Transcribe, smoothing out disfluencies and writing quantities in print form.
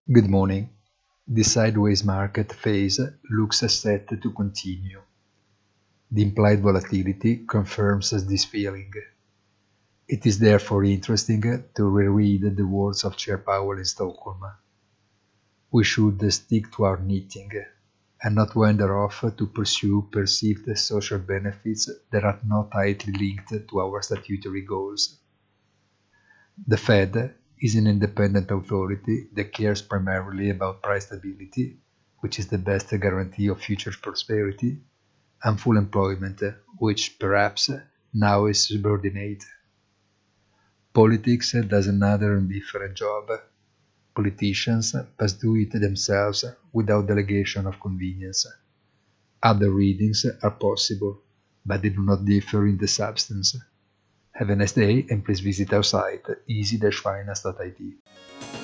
Good morning. The sideways market phase looks set to continue. The implied volatility confirms this feeling. It is therefore interesting to reread the words of Chair Powell in Stockholm. We should stick to our knitting and not wander off to pursue perceived social benefits that are not tightly linked to our statutory goals. The Fed is an independent authority that cares primarily about price stability, which is the best guarantee of future prosperity, and full employment, which perhaps now is subordinate. Politics does another and different job. Politicians must do it themselves without delegation of convenience. Other readings are possible, but they do not differ in the substance. Have a nice day and please visit our site easy-finance.it.